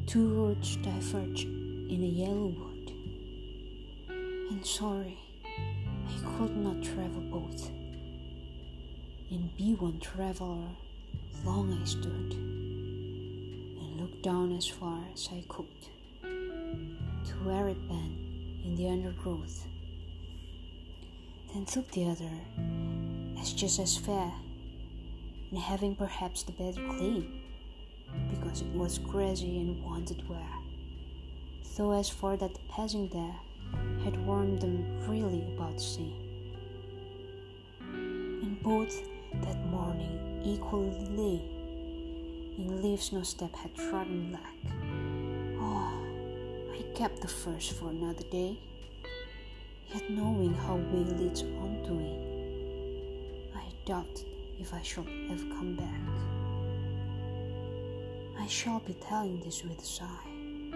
Two roads diverge in a yellow wood, and sorry, I could not travel both. And be one traveler, long I stood, and looked down as far as I could, to where it bent in the undergrowth. Then took the other, as just as fair, and having perhaps the better claim, because it was grassy and wanted wear, though as for that the passing there had warned them really about the same. And both that morning equally lay, in leaves no step had trodden black. Oh, I kept the first for another day, yet knowing how way leads on to it, I doubted if I should ever come back. I shall be telling this with a sigh.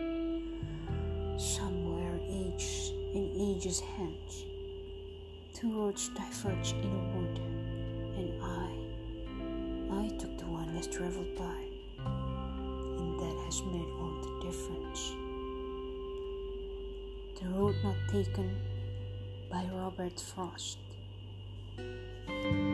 Somewhere in ages hence, two roads diverged in a wood, and I took the one less traveled by, and that has made all the difference. The road not taken by Robert Frost.